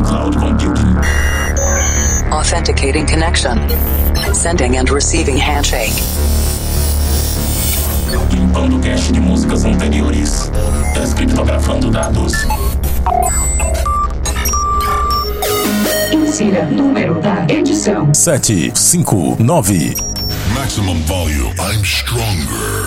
cloud computing. Authenticating connection. Sending and receiving handshake. Limpando cache de músicas anteriores. Descriptografando dados. Insira número da edição: 759. Maximum volume. I'm stronger.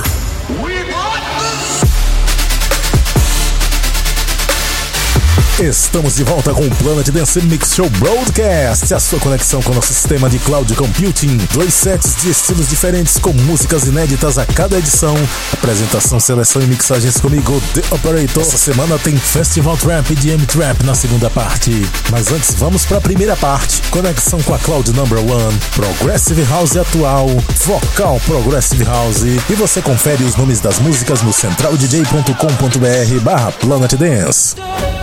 Estamos de volta com o Planet Dance Mix Show Broadcast, a sua conexão com o nosso sistema de cloud computing. 2 sets de estilos diferentes com músicas inéditas a cada edição. Apresentação, seleção e mixagens comigo, The Operator. Essa semana tem Festival Trap e DM Trap na segunda parte. Mas antes, vamos para a primeira parte. Conexão com a Cloud Number One, Progressive House atual, Vocal Progressive House. E você confere os nomes das músicas no centraldj.com.br/Planet Dance.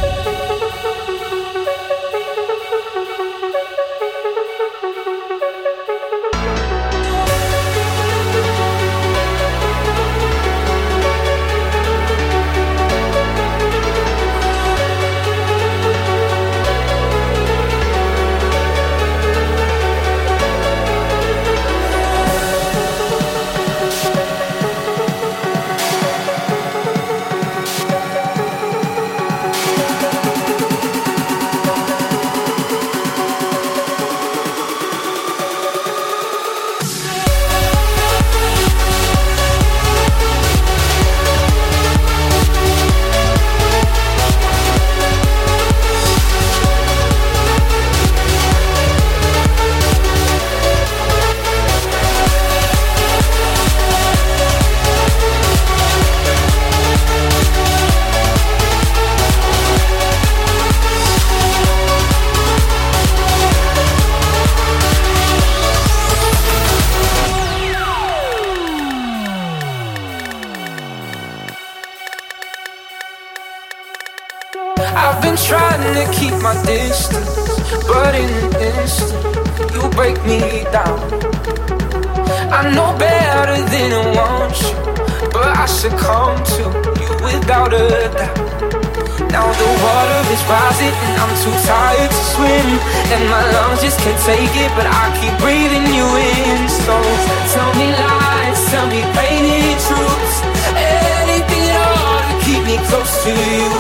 Keep my distance, but in an instant you break me down. I know better than I want you, but I succumb to you without a doubt. Now the water is rising and I'm too tired to swim, and my lungs just can't take it, but I keep breathing you in. So tell me lies, tell me painted truths, anything at all to keep me close to you.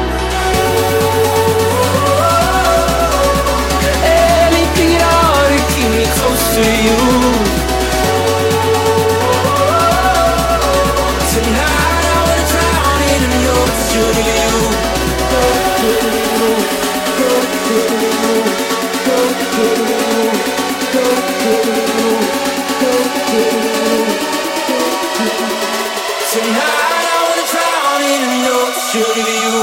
Anything at all to keep me close to you. Tonight I wanna drown in an ocean of you. Tonight I wanna drown in an ocean of you.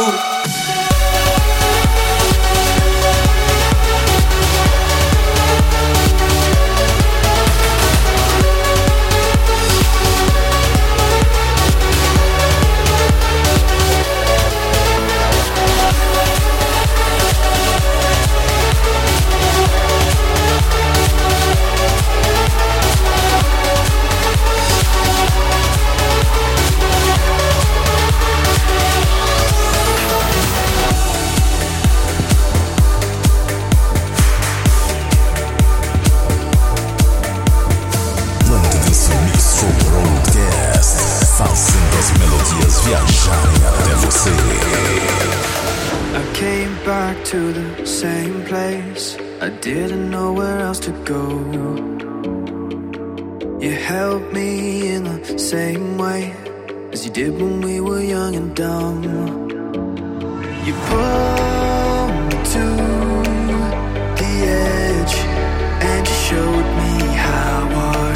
To the same place, I didn't know where else to go. You helped me in the same way as you did when we were young and dumb. You pulled me to the edge and you showed me how our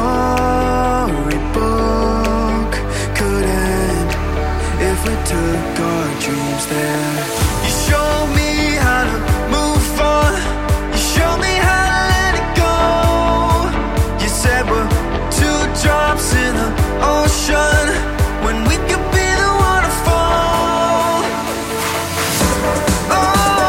storybook could end if we took our dreams there. You showed me how to move on. You showed me how to let it go. You said we're two drops in the ocean when we could be the waterfall. Oh,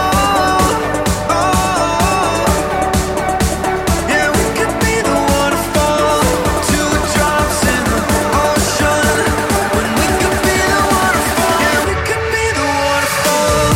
oh, yeah, we could be the waterfall. Two drops in the ocean when we could be the waterfall. Yeah, we could be the waterfall.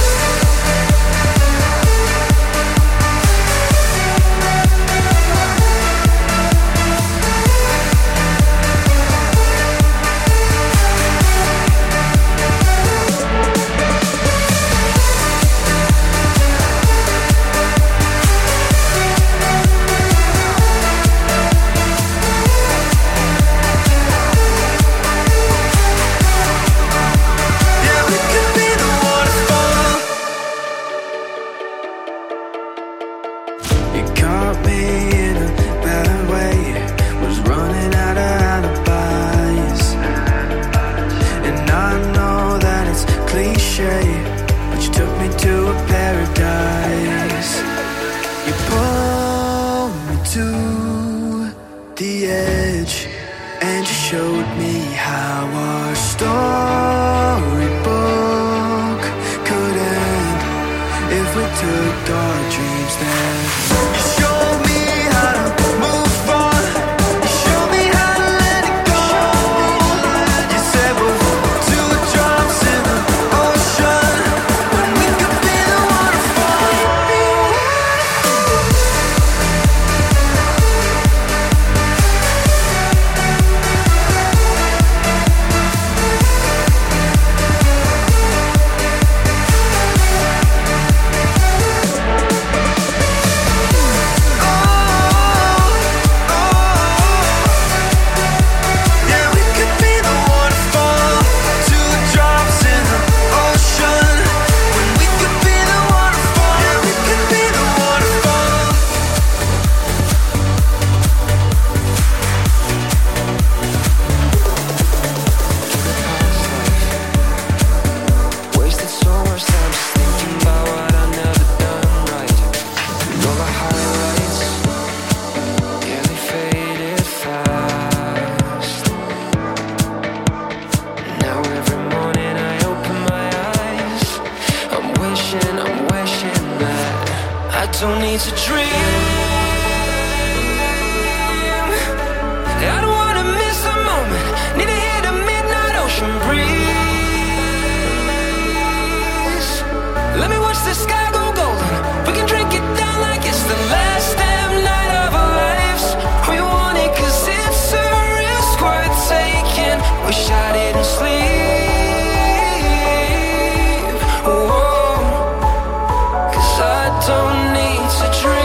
cliche, but you took me to a paradise. You pulled me to the edge, and you showed me how our storybook could end if we took our dreams there. You showed me how to move on. You showed me how to let it go. You said we're two drops in the ocean when we could be the waterfall. Don't need to dream. I don't wanna miss a moment. Need to hear the midnight ocean breeze. Let me watch the sky go golden. We can drink it down like it's the last damn night of our lives. We want it 'cause it's a risk worth taking. Wish I didn't sleep. Whoa. 'Cause I don't need to dream.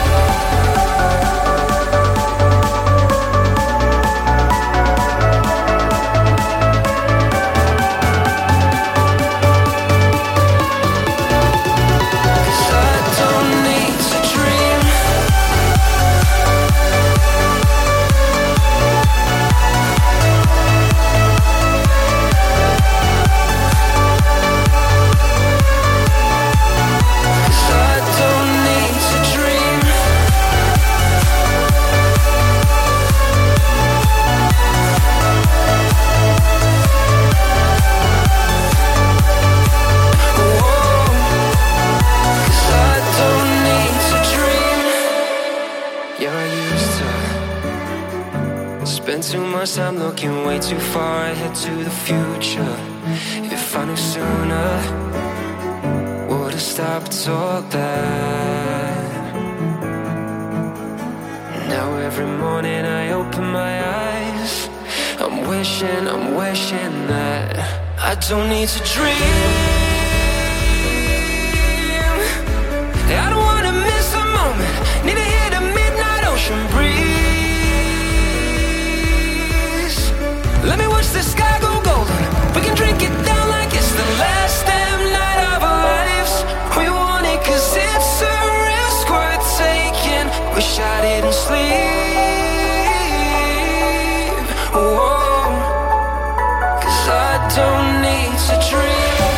Too much time looking way too far ahead to the future. If I knew sooner, would've stopped all that. Now every morning I open my eyes, I'm wishing that I don't need to dream. I don't wanna miss a moment. Need to hear the midnight ocean breeze. Let me watch the sky go golden. We can drink it down like it's the last damn night of our lives. We want it 'cause it's a risk worth taking. Wish I didn't sleep. Whoa. 'Cause I don't need to dream.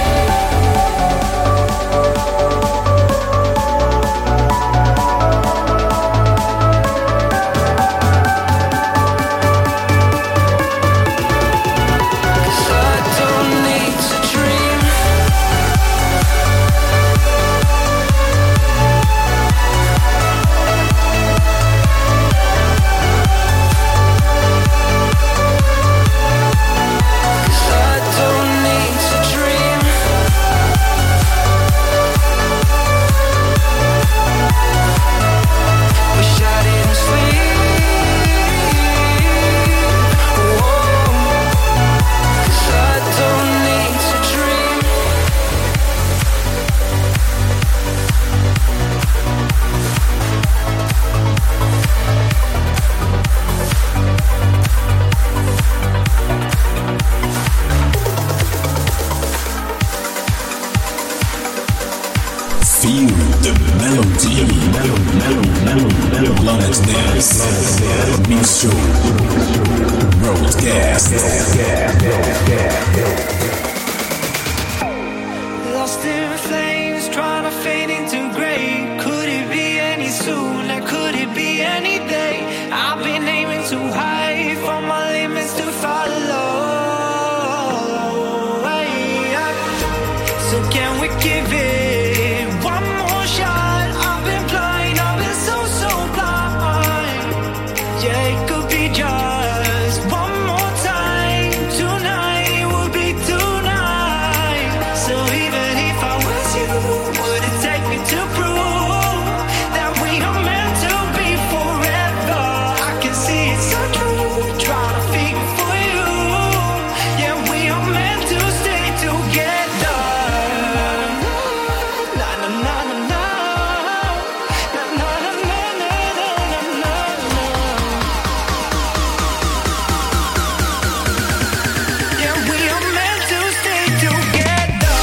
Feel the melody. Planet Dance Mix Show Broadcast. lost in flames, trying to fade into gray. Could it be any sooner? Could it be any day? I've been aiming too high for my limits to follow. So can we give it one more shot? I've been blind, I've been so blind. Yeah, it could be just one more time. Tonight will be tonight. So even if I was you, would it take me to prove that we are meant to be forever? I can see it's so true, trying to figure for you. Yeah, we are meant to stay together. Na na na na na. Na na na na na na na na. Yeah, we are meant to stay together.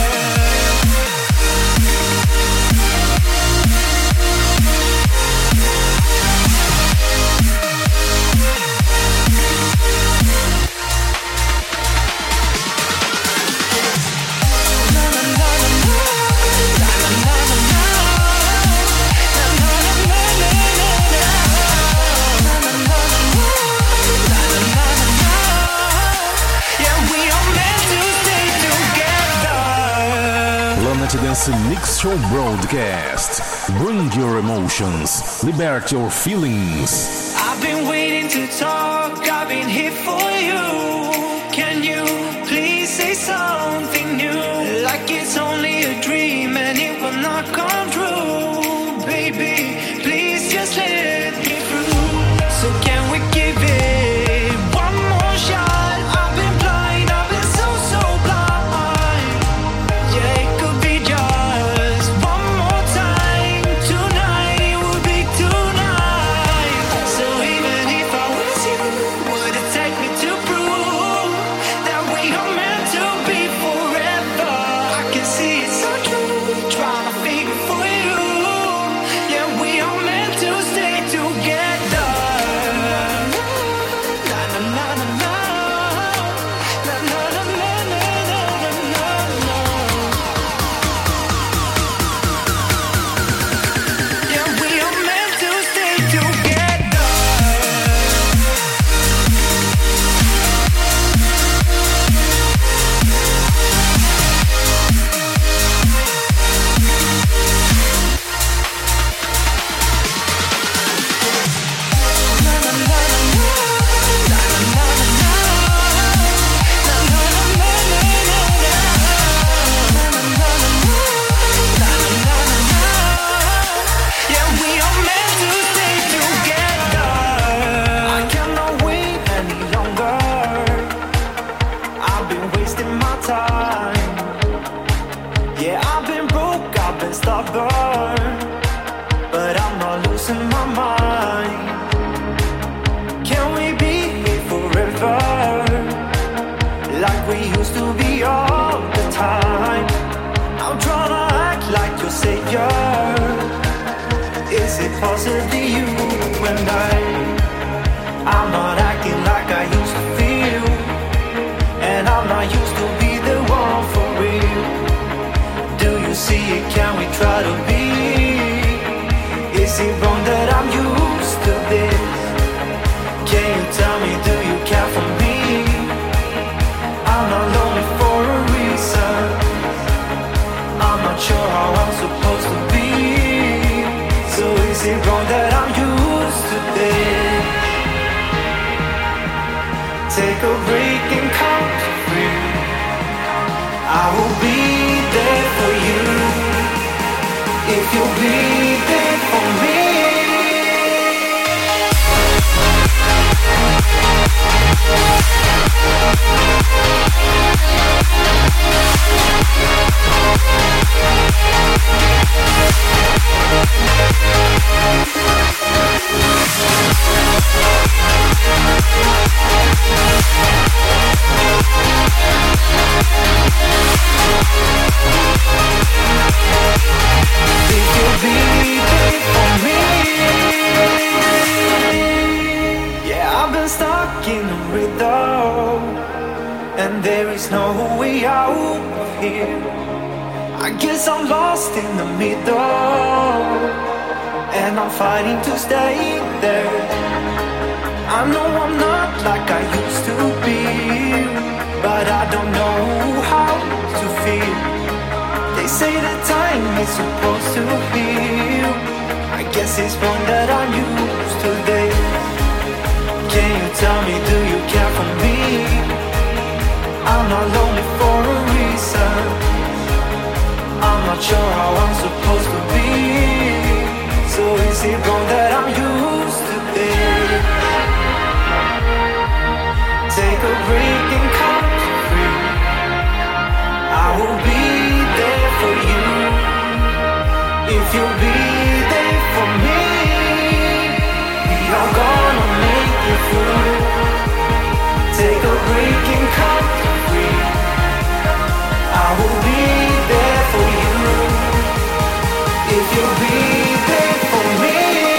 Yeah, we are meant to stay together. Planet Dance Mix Show Broadcast. Bring your emotions, liberate your feelings. I've been waiting to talk, I've been here for you. Can you please say something new? Like it's only a dream and it will not come true. Baby, please just let me through. So can we give it one more shot? I've been blind, I've been so blind. Yeah, it could be just one more time. Tonight will be tonight. So even if I was you, would it take me to prove that we are meant to be forever? I can see it's so true, trying to figure for you. Yeah, we are meant to stay together. Na na na na na. Na na na na na na na na. Yeah, we are meant to stay together. Yeah, we are meant to stay together. I cannot wait any longer. I've been wasting my time. Yeah, I've been broke, I've been stubborn, but I'm not losing my mind. Can we be here forever? Like we used to be all the time. I'm trying to act like your savior. Is it possibly you and I'm not acting like I used to feel, and I'm not used to be the one for real. Do you see it? Can we try to be? Is it wrong that I'm used to this? Can you tell me, do you care for me? I'm not lonely for a reason. I'm not sure how I'm supposed to be. So is it wrong that I'm used to this? Take a break and count to three. I will be there for you if you'll be there for me. If you'll be there for me. Yeah, I've been stuck in a rhythm, and there is no way out of here. I guess I'm lost in the middle, and I'm fighting to stay there. I know I'm not like I used to be, but I don't know how to feel. They say that time is supposed to heal. I guess it's wrong that I'm used to this. Can you tell me, do you care for me? I'm not lonely for a reason. I'm not sure how I'm supposed to be. So is it wrong that I'm used to this? Take a break and come free. I will be there for you if you'll be there for me. We are gonna make it through. Take a break and come free. I will be there for you if you'll be there for me.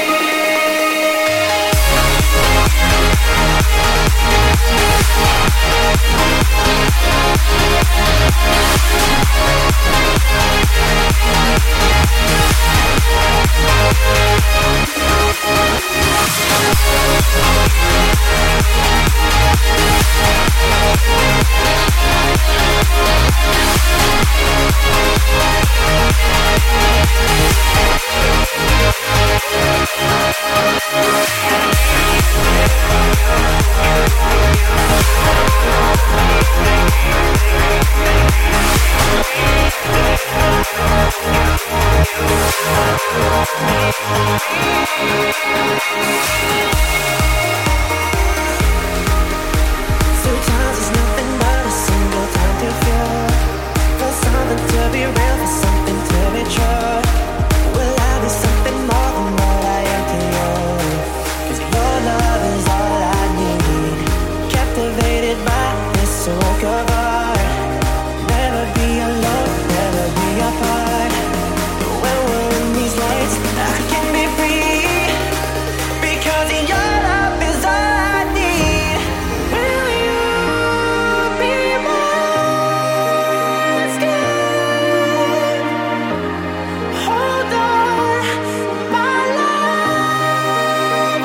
Sometimes it's nothing but a single time to feel, for something to be real, for something to be true. Will I be something more than what I am to you? 'Cause your love is all I need. Captivated by this work of art. Never be alone, never be apart. When we're in these lights, I can be free, because your love is all I need. Will you be my skin? Hold on, my love.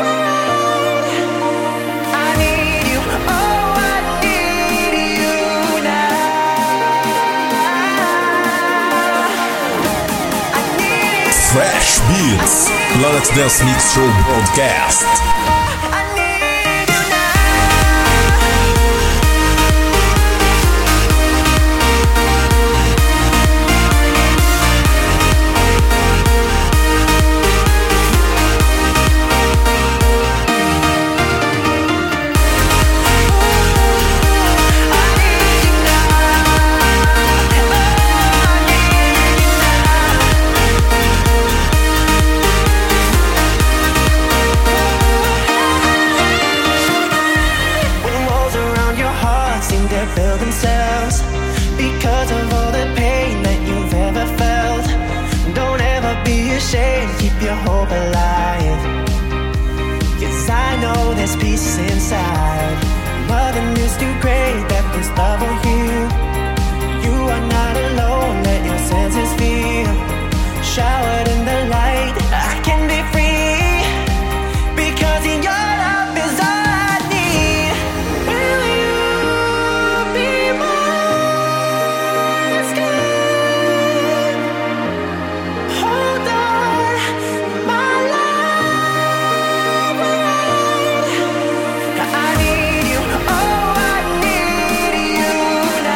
I need you, oh, I need you now. I need you. Fresh Beats, Planet Dance Mix Show Broadcast. I need you now. When walls around your heart seem to build themselves because of all the pain that you've ever felt, don't ever be ashamed, keep your hope alive. 'Cause I know there's peace inside. Mother news too great that this love will heal. You are not alone, let your senses feel. Showered in the light, I can be free, because in your love is all I need. Will you be my skin? Hold on, my love. I need you, oh, I need you now.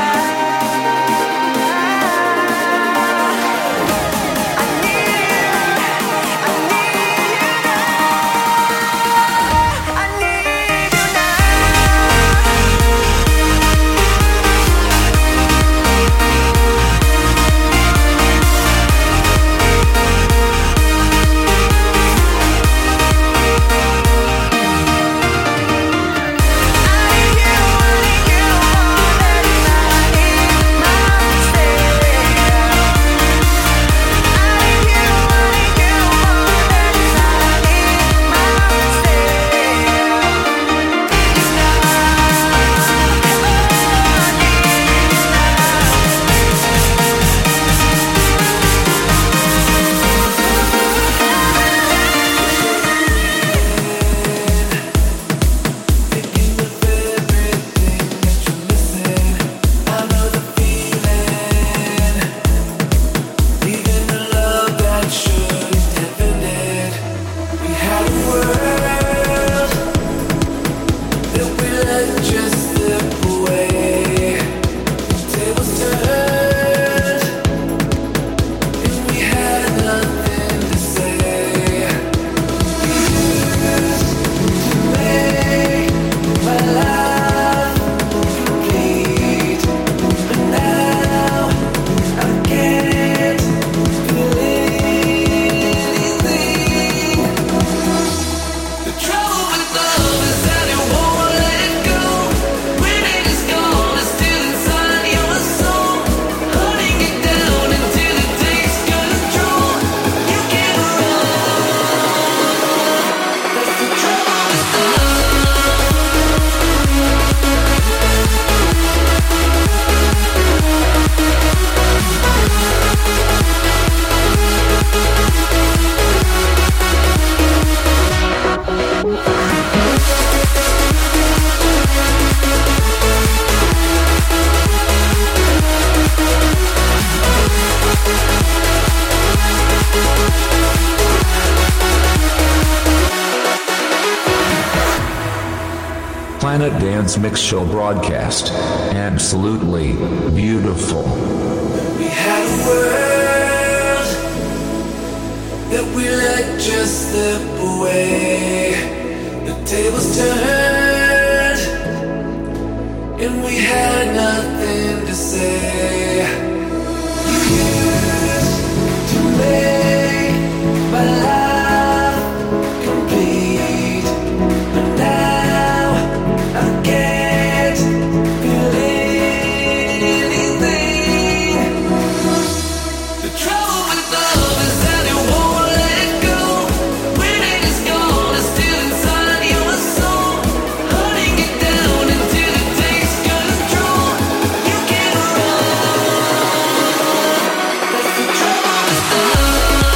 Planet Dance Mix Show broadcast. Absolutely beautiful. We had a world that we let just slip away. The tables turned and we had nothing to say. You used to make my life complete, but now I can't feel anything. The trouble with love is that it won't let go. When it is gone, it's still inside your soul, hunting it down until it takes control. You can't run. That's the trouble with love.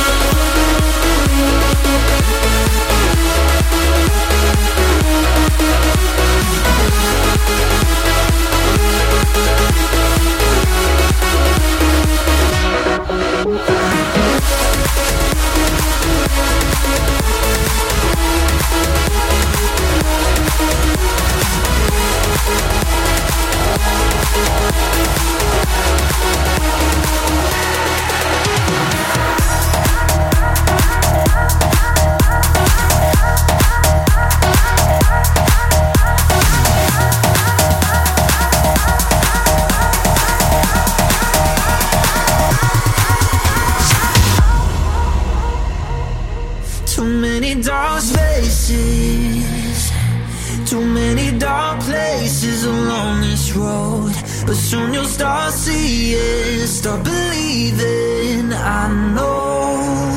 Too many dark spaces, too many dark places along this road. But soon you'll start seeing, start believing. I know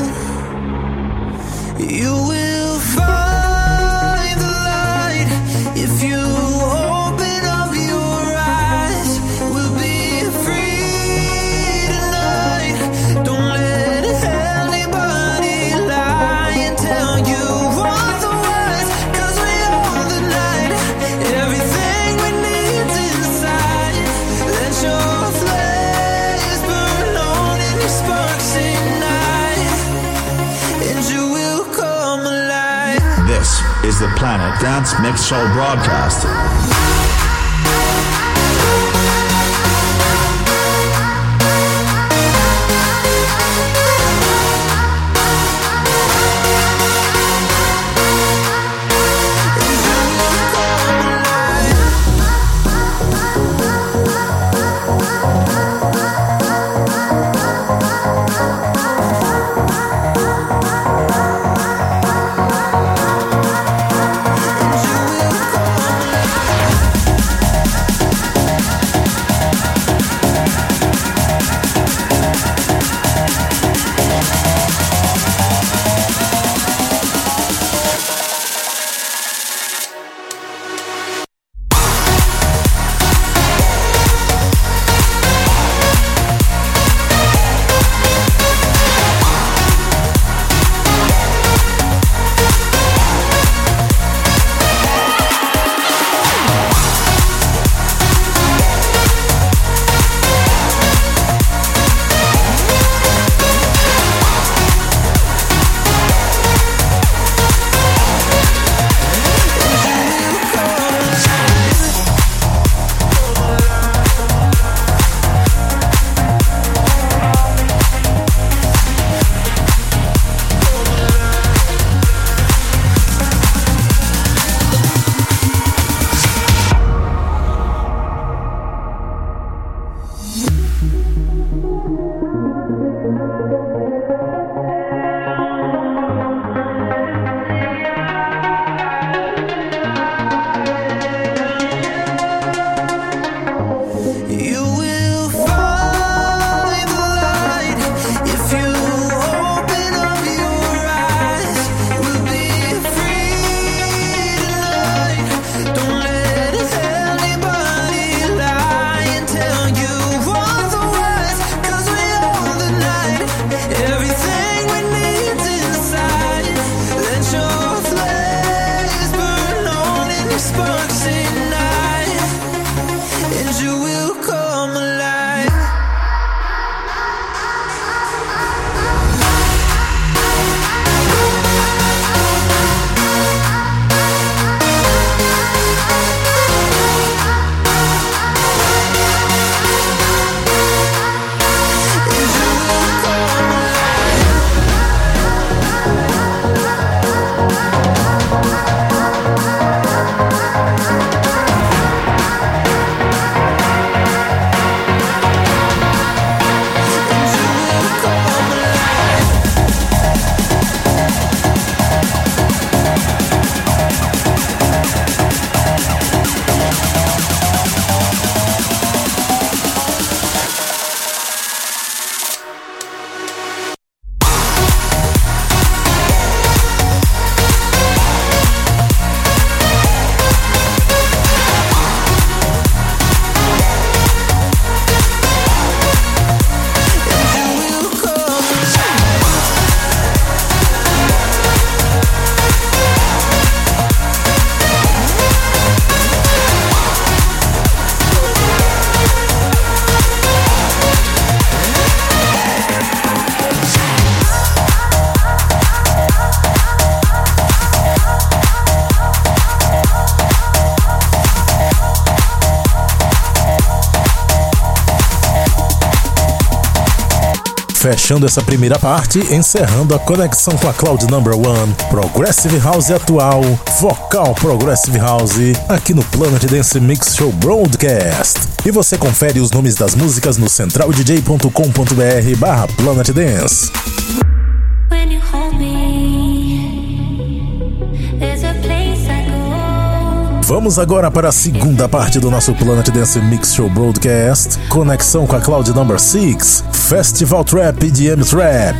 you will find the light if you open up your eyes. We'll be free tonight. Don't let anybody lie and tell you otherwise, 'cause we own the night. Everything we need's inside. Let your flames burn on and your sparks ignite, and you will come alive. This is the Planet Dance Mix Show broadcast. Fechando essa primeira parte, encerrando a conexão com a Cloud Number One, Progressive House atual, Vocal Progressive House, aqui no Planet Dance Mix Show Broadcast. E você confere os nomes das músicas no centraldj.com.br/Planet Dance. Vamos agora para a segunda parte do nosso Planet Dance Mix Show Broadcast, conexão com a Cloud Number 6, Festival Trap e EDM Trap.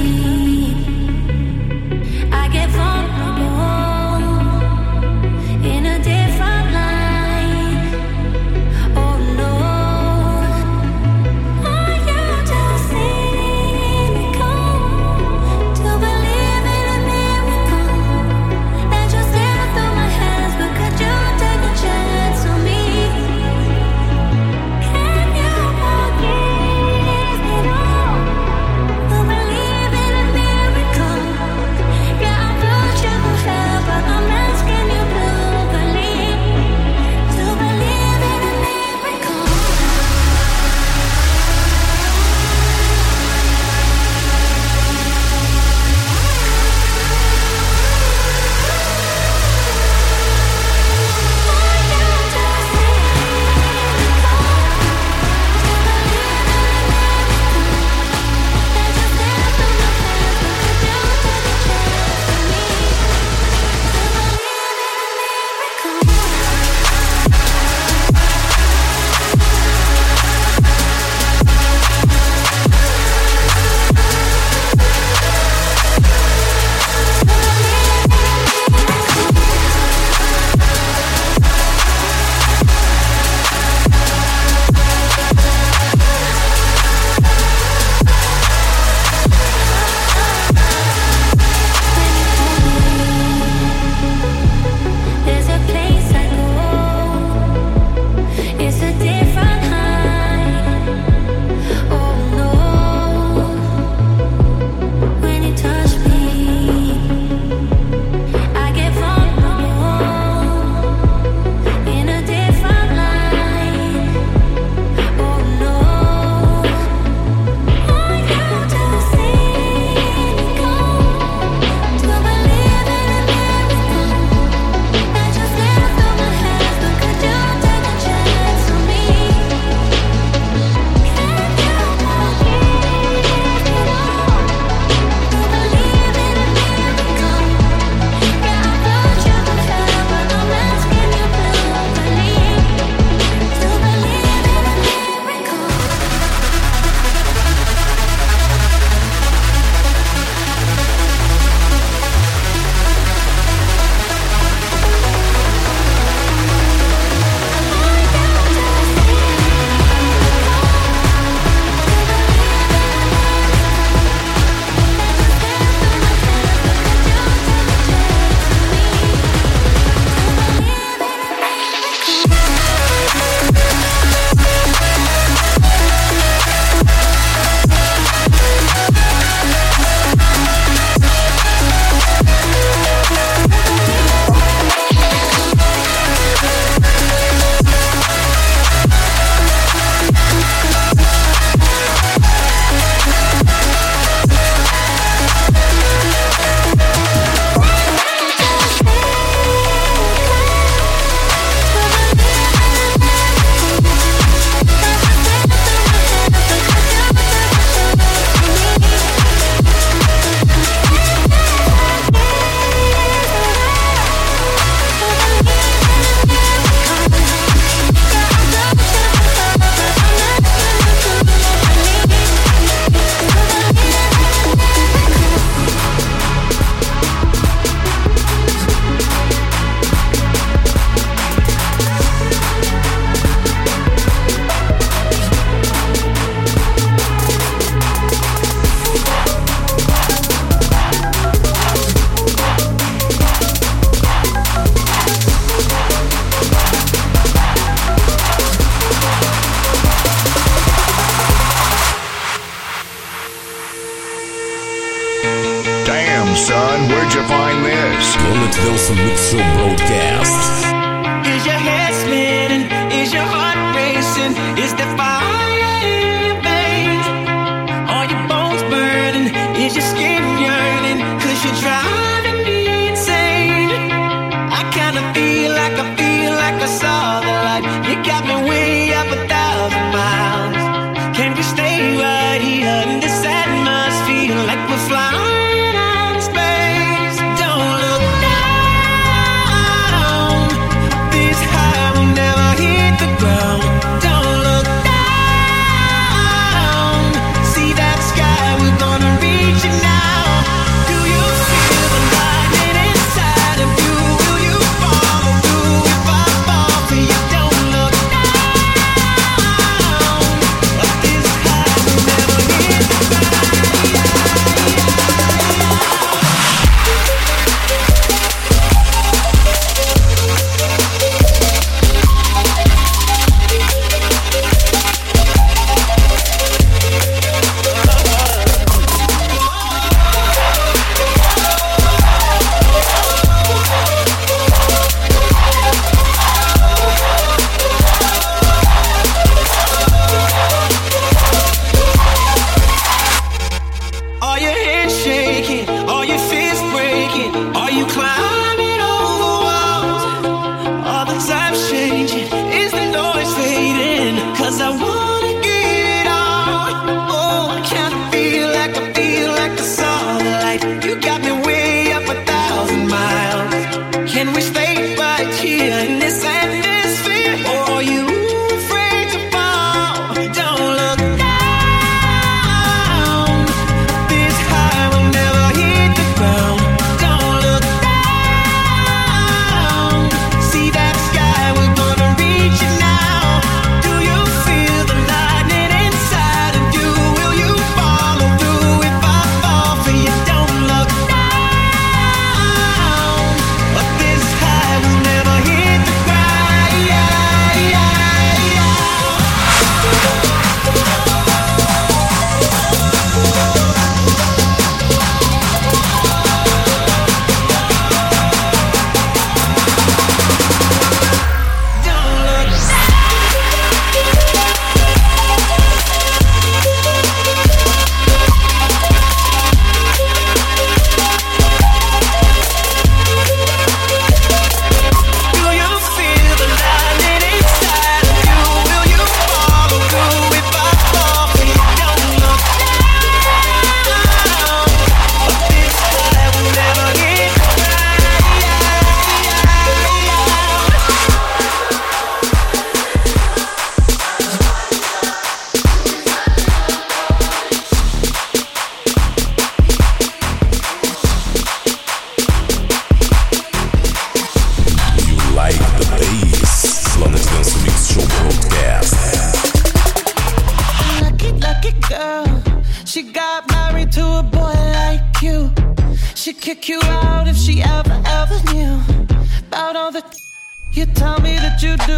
son, where'd you find this? Planet Dance Mix Show Broadcast. Is your head spinning? Is your heart racing? Is the fire in your veins? Are your bones driving me insane. I kinda feel like I saw the light. You got me way up 1,000 miles. Can we stay right here in this atmosphere like we're flying out in space? Don't look down. This high will never hit the ground. Don't look down. See that sky, we're gonna reach it now. Do you feel the lightning inside of you? Will you follow through if I fall for you? Don't look down. This high will never hit the ground. Are your hands shaking? Are your fists breaking? Are you climbing over walls? Are the times changing? Is the noise fading? 'Cause I wanna get it on. Oh, I kinda feel like I saw the light. You got me way up 1,000 miles. Can we stay right here in this atmosphere? Or are you afraid to fall? Don't look down. This high will never hit the ground. Don't look down. See that sky, we're gonna reach it now. Do you feel the lightning inside of you? Will you follow through if I fall for you? Don't look down. But this high will never hit the ground. Do you feel the lightning inside of you? Will you follow through if I fall for you? Don't look down. But this high will never hit the You like the bass? Planet Dance Mix Show Broadcast. lucky girl. She got married to a boy like you. She'd kick you out if she ever knew about all the you tell me that you do.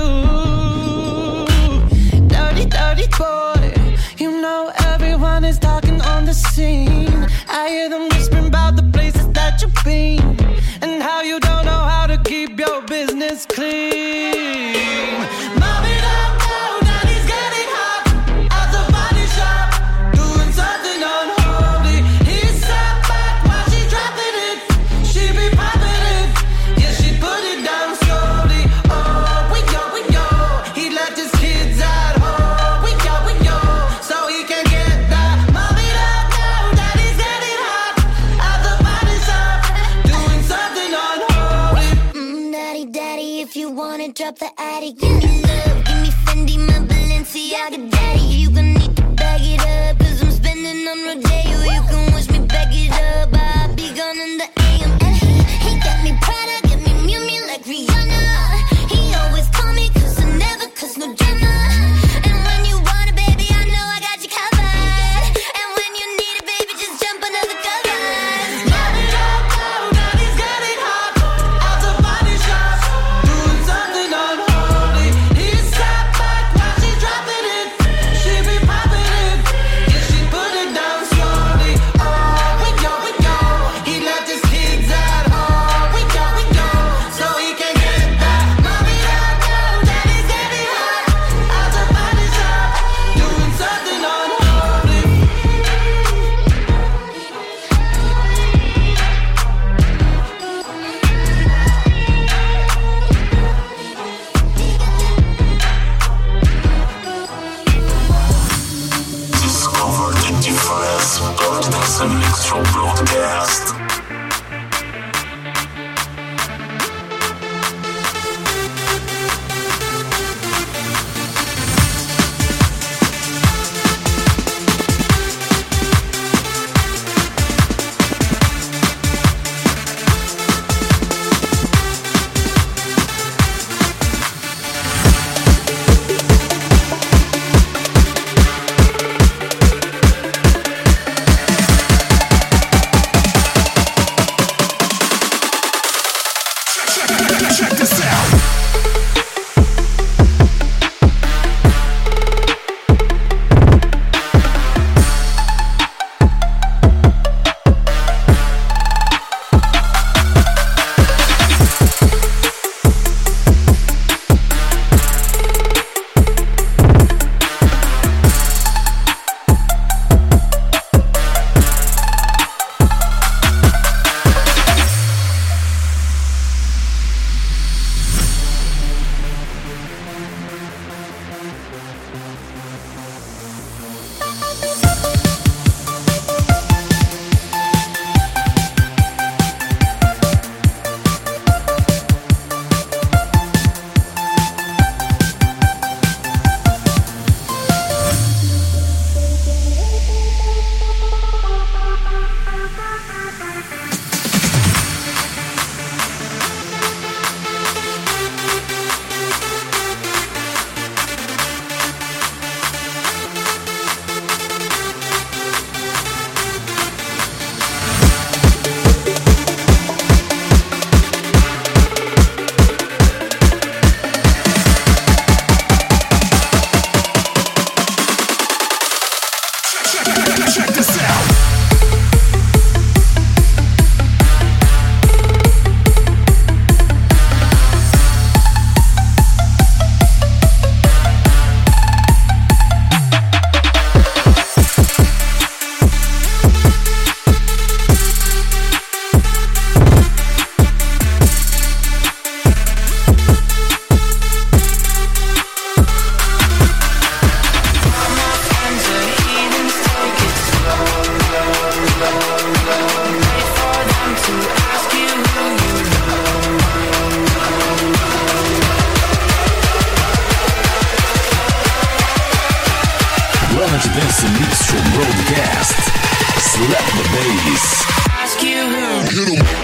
Dirty boy. You know everyone is talking on the scene. I hear them whispering about the places that you've been and how you don't know how to keep your business clean. Mommy, don't go, daddy's getting hot at the body shop, doing something unholy. He sat back while she dropping it. She be popping it, yeah, she put it down slowly. Oh, we yo, he left his kids at home. We yo, so he can get that. Mommy, don't go, daddy's getting hot at the body shop, doing something unholy. Daddy, if you wanna drop the attic, give me love, give me Fendi, my Balenciaga daddy. You gon' need to bag it up, 'cause I'm spending on Rodeo. You can wish me back it up, I'll be gone in the AM. And he got me Prada, got me Miu Miu like Rihanna. He always call me 'cause I never cause no drama. And when you want it, baby, I know I got you covered. And when you need it, baby, just jump under the covers. Mommy, don't go, daddy's getting hot at the body shop, doing something unholy. He sat back while she dropping it. She be popping it, yeah, she put it down slowly. Oh, we yo, he left his kids at home. We yo, so he can get that. Dance Mix Show Broadcast. Planet Dance Mix Show Broadcast. Slap the bass. Ask you who. Hit 'em.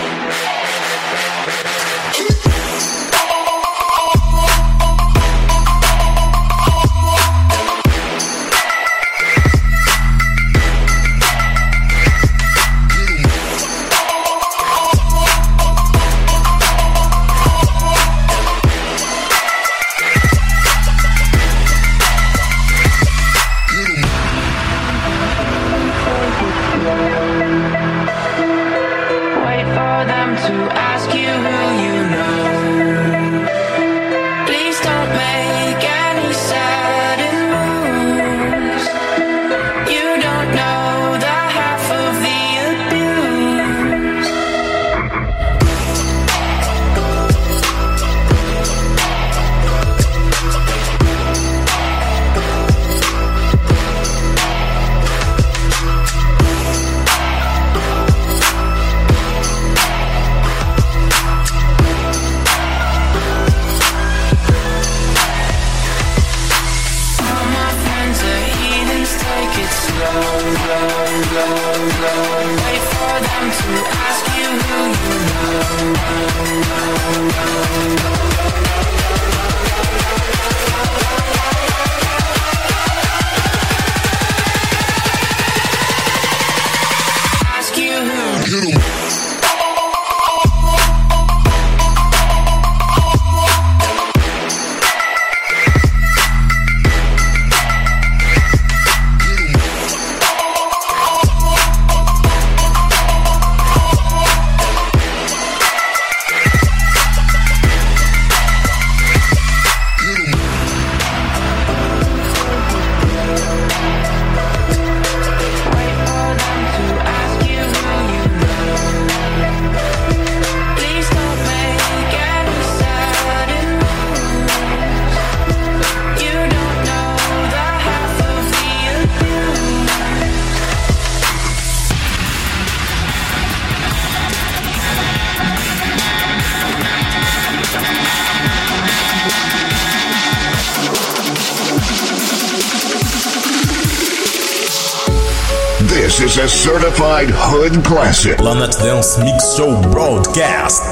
This is a certified hood classic. Planet Dance Mix Show Broadcast.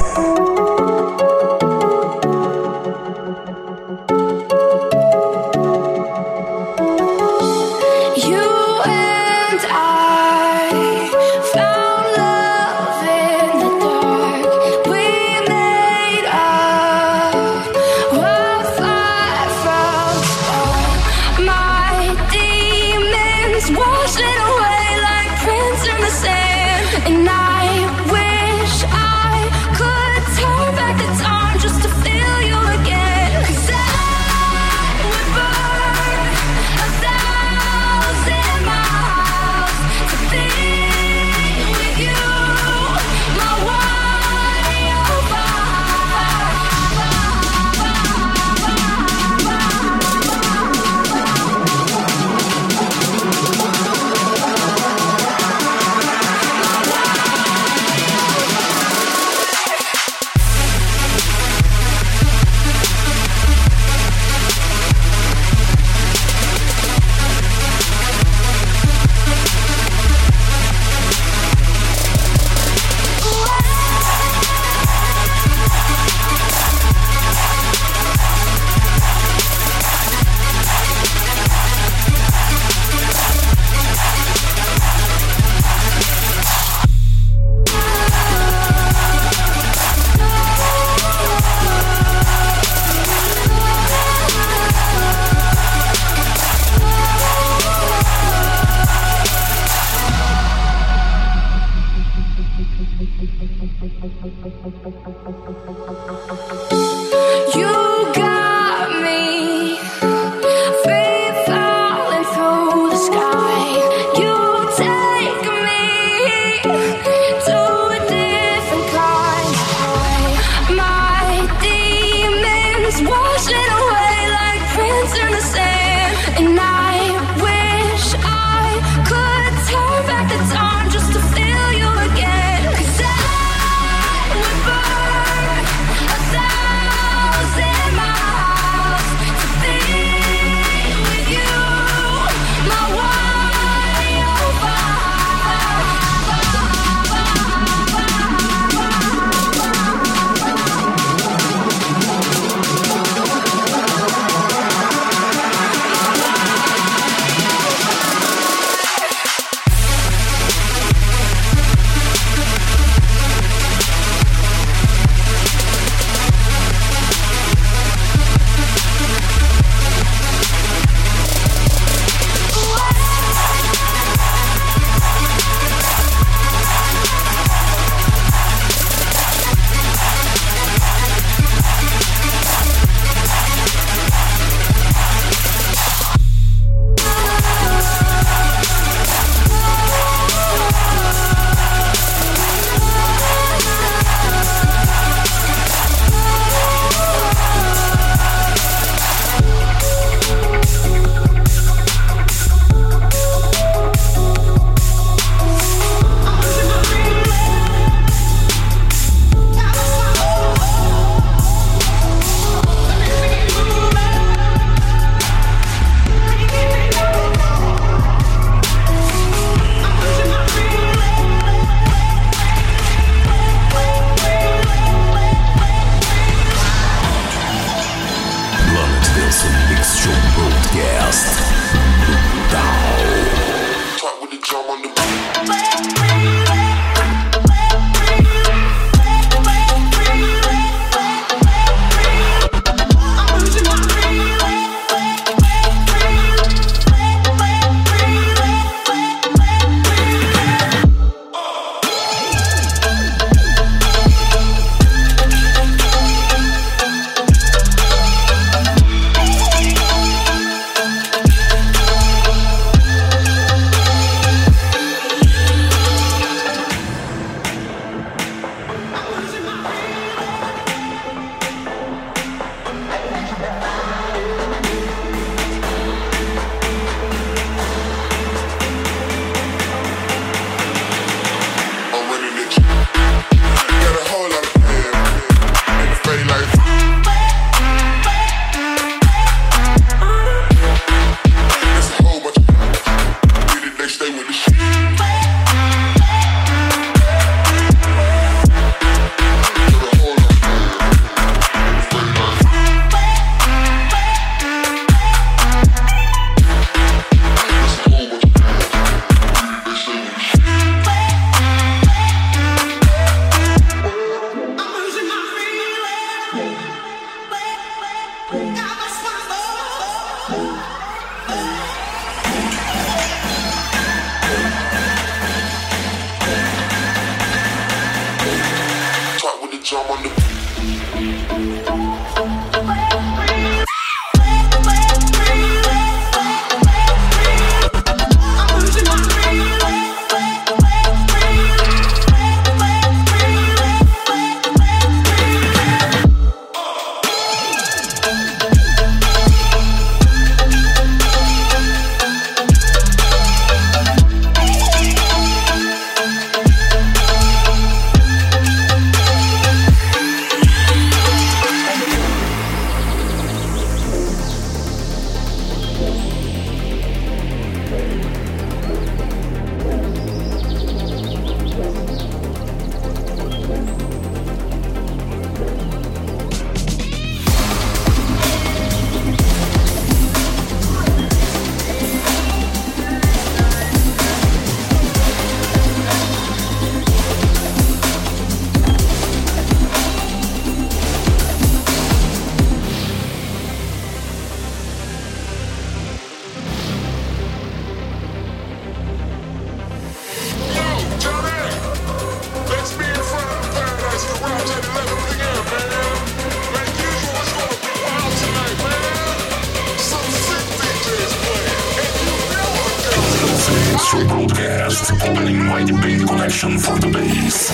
Broadcast, opening wide band collection for the bass.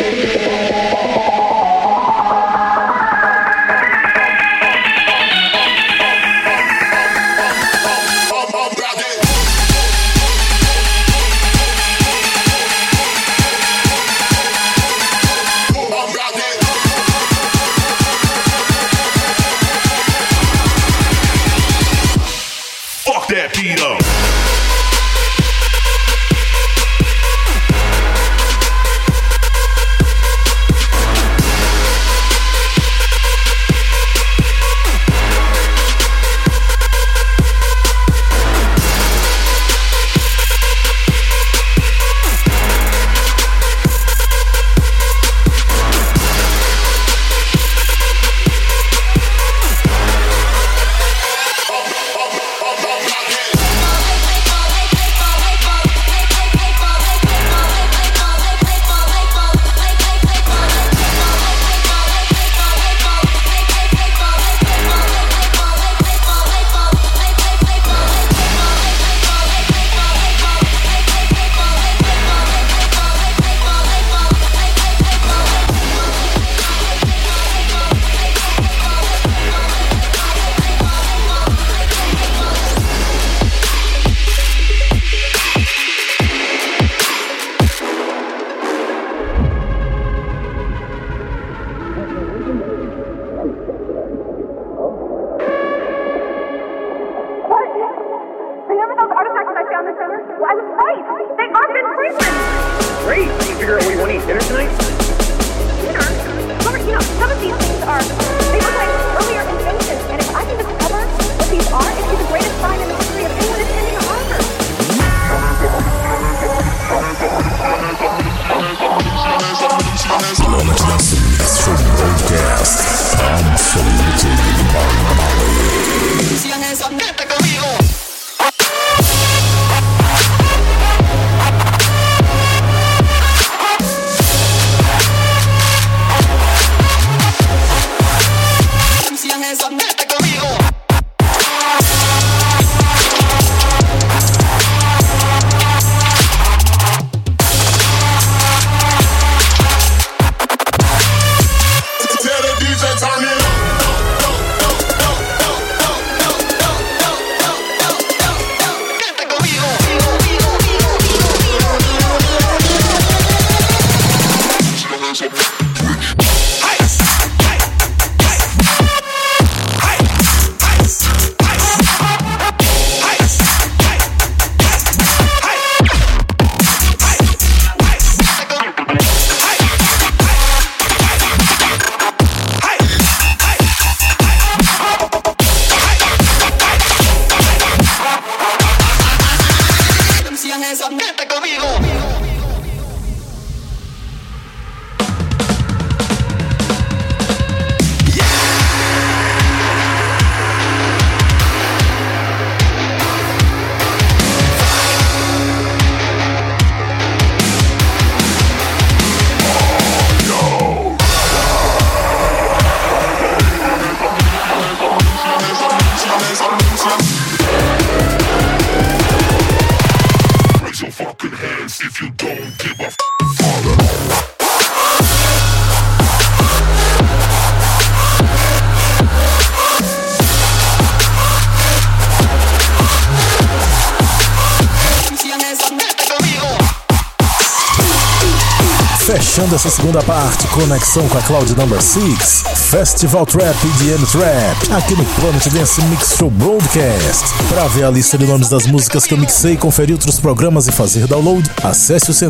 Fechando essa segunda parte, conexão com a Cloud Number 6, Festival Trap EDM Trap, aqui no Planet Dance Mix Show Broadcast. Para ver a lista de nomes das músicas que eu mixei, conferir outros programas e fazer download, acesse o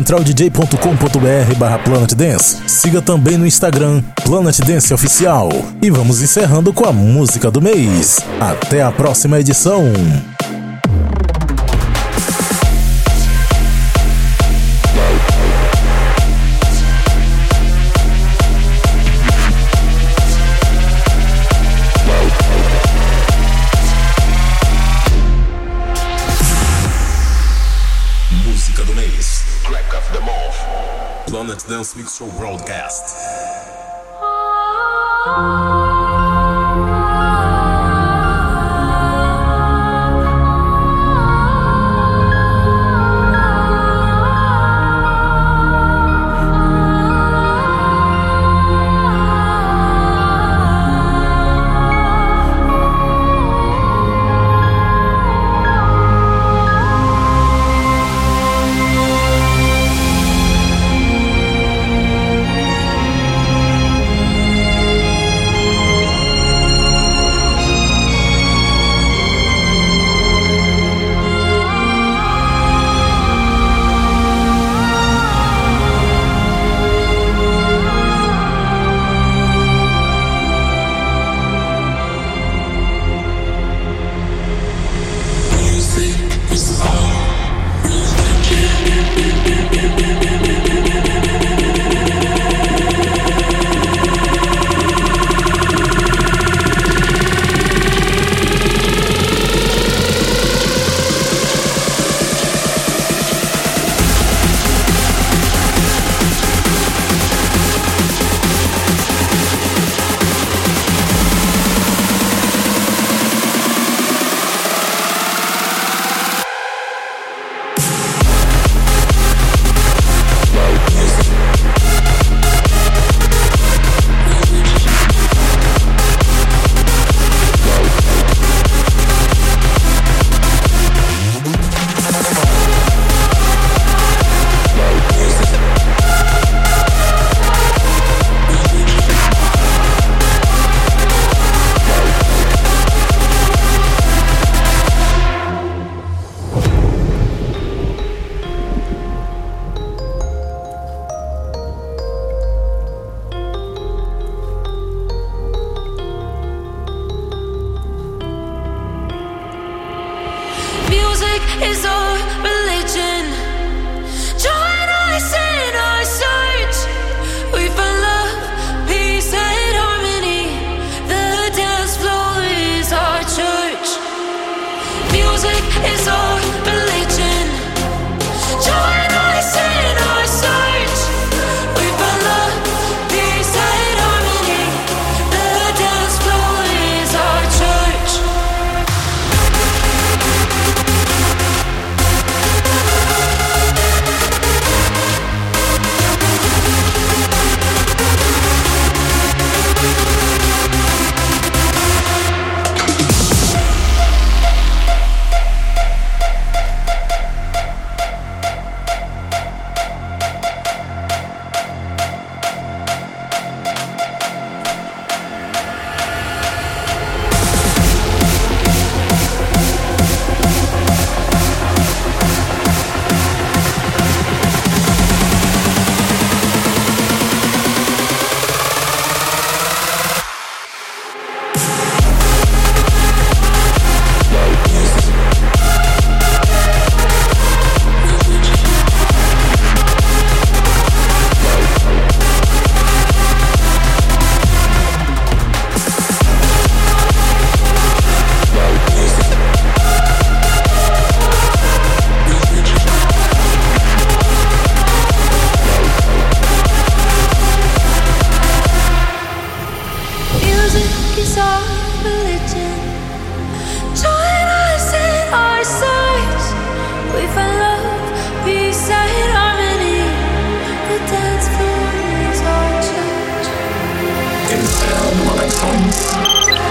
centraldj.com.br/Planet Dance. Siga também no Instagram, Planet Dance Oficial. E vamos encerrando com a música do mês. Até a próxima edição. Planet Dance Mix Show Broadcast.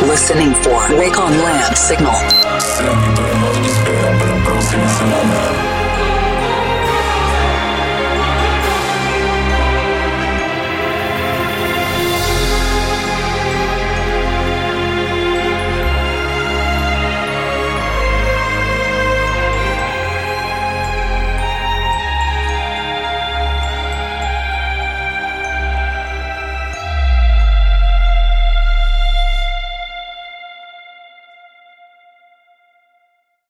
Listening for Wake on Land signal. Sempre por amor de espera para a próxima semana.